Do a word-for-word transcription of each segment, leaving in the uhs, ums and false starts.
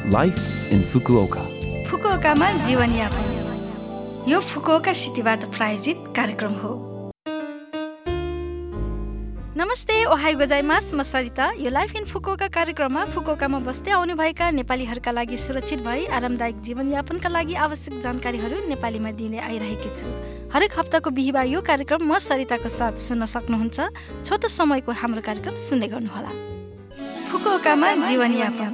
Life in Fukuoka. फुकुओकामा जीवनयापन यो Fukuoka सिटीबाट प्रायोजित कार्यक्रम हो। नमस्ते, ओहाई गोजाइमास, म सरिता। यो लाइफ इन फुकुओका कार्यक्रममा फुकुओकामा बस्दै आउनुभएका नेपालीहरूका लागि सुरक्षित भई आरामदायक जीवनयापनका लागि आवश्यक जानकारीहरू नेपालीमा दिने आइरहेकी छु। हरेक हप्ताको बिहिबार यो कार्यक्रम म सरिताको साथ सुन्न सक्नुहुन्छ। छोटो समयको हाम्रो कार्यक्रम सुन्दै गर्नुहोला। फुकुओकामा जीवनयापन।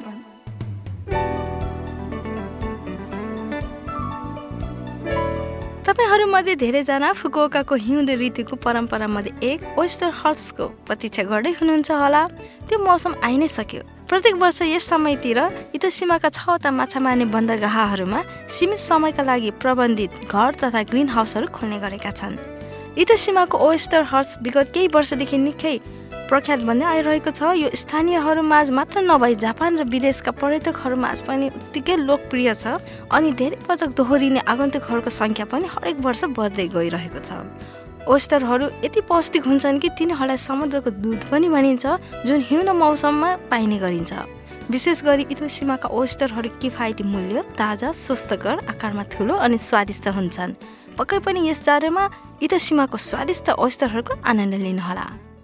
तपाईहरूमध्ये धेरैजना फुकुओकाको हिउँदे ऋतुको परम्परामध्ये एक ओइस्टर हर्सको प्रतीक्षा गर्दै हुनुहुन्छ होला। त्यो मौसम आइ नै सक्यो। प्रत्येक वर्ष यस समयतिर इतोसीमाका छवटा माछा मार्ने बन्दरगाहहरूमा सीमित समयका लागि प्रबन्धित घर तथा ग्रिन हाउसहरू खोल्ने गरेका छन्। इतोसीमाको ओइस्टर हर्स विगत केही वर्षदेखि निकै प्रख्यात बन्दै आइरहेको छ। यो स्थानीयहरूमाझ मात्र नभई जापान र विदेशका पर्यटकहरूमाझ पनि उत्तिकै लोकप्रिय छ अनि धेरै पटक दोहोरिने आगन्तुकहरूको सङ्ख्या पनि हरेक वर्ष बढ्दै गइरहेको छ। ओइस्टरहरू यति पौष्टिक हुन्छन् कि तिनीहरूलाई समुद्रको दुध पनि भनिन्छ, जुन हिउँदो मौसममा पाइने गरिन्छ। विशेष गरी इतोसीमाका ओइस्टरहरू किफायती मूल्य, ताजा, स्वस्थकर, आकारमा ठुलो अनि स्वादिष्ट हुन्छन्। पक्कै पनि यस जाडोमा इतोसीमाको स्वादिष्ट ओइस्टरहरूको आनन्द लिनुहोला।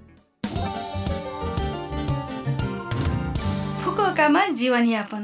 फुकुओकामा जीवनयापन।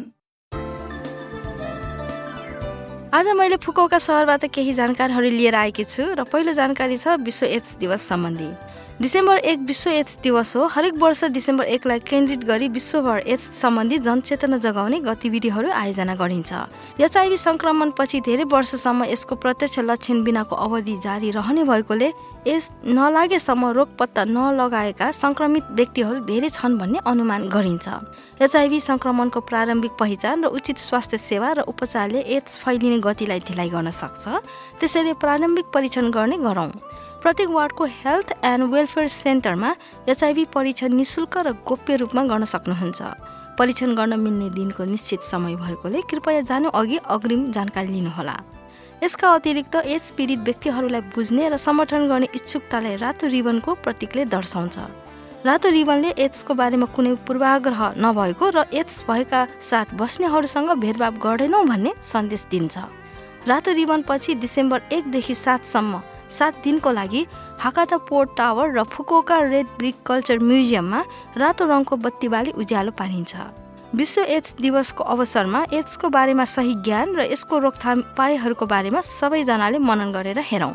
आज मैले फुकुओका सहरबाट केही जानकारीहरू लिएर आएकी छु र पहिलो जानकारी छ विश्व एड्स दिवस सम्बन्धी। डिसेम्बर एक विश्व एड्स दिवस हो। हरेक वर्ष डिसेम्बर एकलाई केन्द्रित गरी विश्वभर एड्स सम्बन्धी जनचेतना जगाउने गतिविधिहरू आयोजना गरिन्छ। एचआइभी सङ्क्रमणपछि धेरै वर्षसम्म यसको प्रत्यक्ष लक्षण बिनाको अवधि जारी रहने भएकोले यस नलागेसम्म रोग पत्ता नलगाएका सङ्क्रमित व्यक्तिहरू धेरै छन् भन्ने अनुमान गरिन्छ। एचआइभी सङ्क्रमणको प्रारम्भिक पहिचान र उचित स्वास्थ्य सेवा र उपचारले एड्स फैलिने गतिलाई ढिलाइ गर्न सक्छ। त्यसैले प्रारम्भिक परीक्षण गर्ने गरौँ। प्रत्येक वार्डको हेल्थ एन्ड वेलफेयर सेन्टरमा एचआइभी परीक्षण निशुल्क र गोप्य रूपमा गर्न सक्नुहुन्छ। परीक्षण गर्न मिल्ने दिनको निश्चित समय भएकोले कृपया जानु अघि अग्रिम जानकारी लिनुहोला। यसका अतिरिक्त एड्स पीडित व्यक्तिहरूलाई बुझ्ने र समर्थन गर्ने इच्छुकतालाई रातो रिबनको प्रतीकले दर्शाउँछ। रातो रिबनले एड्सको बारेमा कुनै पूर्वाग्रह नभएको र एड्स भएका साथ बस्नेहरूसँग भेदभाव गर्दैनौँ भन्ने सन्देश दिन्छ। रातो रिबन पछि डिसेम्बर एकदेखि सातसम्म सात दिनको लागि हाकाता पोर्ट टावर र फुकुओका रेड ब्रिक कल्चर म्युजियममा रातो रङको बत्ती बाली उज्यालो पारिन्छ। विश्व एड्स दिवसको अवसरमा एड्सको बारेमा सही ज्ञान र यसको रोकथाम उपायहरूको बारेमा सबैजनाले मनन गरेर हेरौँ।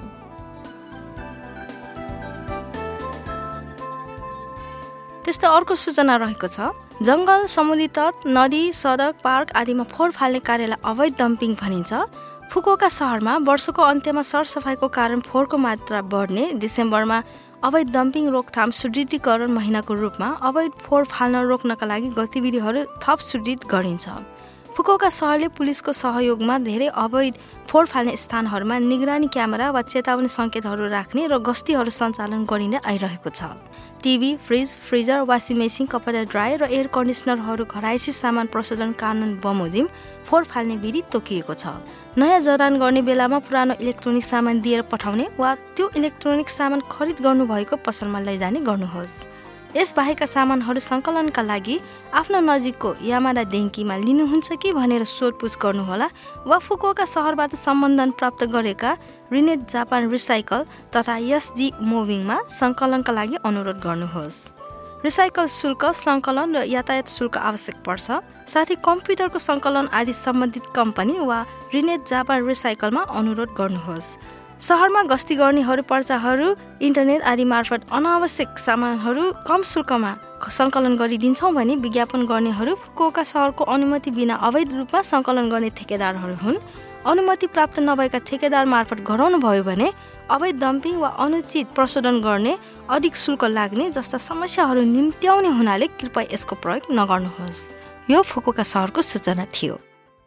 त्यस्तै अर्को सूचना रहेको छ। जङ्गल, समुद्री तट, नदी, सडक, पार्क आदिमा फोहोर फाल्ने कार्यलाई अवैध डम्पिङ भनिन्छ। फुकुओका सहरमा वर्षको अन्त्यमा सरसफाइको कारण फोहोरको मात्रा बढ्ने डिसेम्बरमा अवैध डम्पिङ रोकथाम सुदृढीकरण महिनाको रूपमा अवैध फोहोर फाल्न रोक्नका लागि गतिविधिहरू थप सुदृढ गरिन्छ। फुकुओका सहरले पुलिसको सहयोगमा धेरै अवैध फोहोर फाल्ने स्थानहरूमा निगरानी क्यामेरा वा चेतावनी सङ्केतहरू राख्ने र गस्तीहरू सञ्चालन गरिँदै आइरहेको छ। TV, fridge, freezer, washing machine, कपडा ड्रायर र एयर कन्डिसनरहरू घरायसी सामान प्रशोधन कानुन बमोजिम फोहोर फाल्ने विधि तोकिएको छ। नयाँ जडान गर्ने बेलामा पुरानो इलेक्ट्रोनिक सामान दिएर पठाउने वा त्यो इलेक्ट्रोनिक सामान खरिद गर्नुभएको पसलमा लैजाने गर्नुहोस्। यस बाहेकका सामानहरू सङ्कलनका लागि आफ्नो नजिकको यामाडा डेङ्कीमा लिनुहुन्छ कि भनेर सोधपुछ गर्नुहोला वा फुकुओका सहरबाट सम्बन्धन प्राप्त गरेका रिनेट जापान रिसाइकल तथा एसजी मुभिङमा सङ्कलनका लागि अनुरोध गर्नुहोस्। रिसाइकल शुल्क, सङ्कलन र यातायात शुल्क आवश्यक पर्छ। साथै कम्प्युटरको सङ्कलन आदि सम्बन्धित कम्पनी वा रिनेट जापान रिसाइकलमा अनुरोध गर्नुहोस्। सहरमा गस्ती गर्नेहरू पर्चाहरू इन्टरनेट आदि मार्फत अनावश्यक सामानहरू कम शुल्कमा सङ्कलन गरिदिन्छौँ भने विज्ञापन गर्नेहरू फुकुओका सहरको अनुमति बिना अवैध रूपमा सङ्कलन गर्ने ठेकेदारहरू हुन्। अनुमति प्राप्त नभएका ठेकेदार मार्फत गराउनु भयो भने अवैध डम्पिङ वा अनुचित प्रशोधन गर्ने, अधिक शुल्क लाग्ने जस्ता समस्याहरू निम्त्याउने हुनाले कृपया यसको प्रयोग नगर्नुहोस्। यो फुकुओका सहरको सूचना थियो।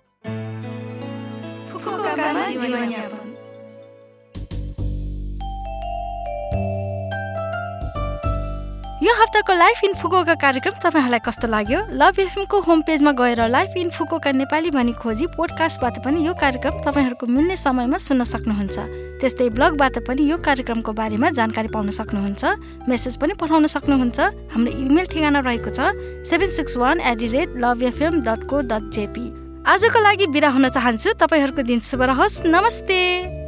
यो हप्ताको लाइफ इन फुकुओका कार्यक्रम तपाईँहरूलाई कस्तो लाग्यो? लभ एफएमको होम पेजमा गएर लाइफ इन फुकुओका नेपाली भनी खोजी पोडकास्टबाट पनि यो कार्यक्रम तपाईँहरूको मिल्ने समयमा सुन्न सक्नुहुन्छ। त्यस्तै ब्लगबाट पनि यो कार्यक्रमको बारेमा जानकारी पाउन सक्नुहुन्छ। मेसेज पनि पठाउन सक्नुहुन्छ। हाम्रो इमेल ठेगाना रहेको छ seven six one at the rate love FM dot को डट जेपी आजको लागि बिदा हुन चाहन्छु। तपाईँहरूको दिन शुभ रहोस्। नमस्ते।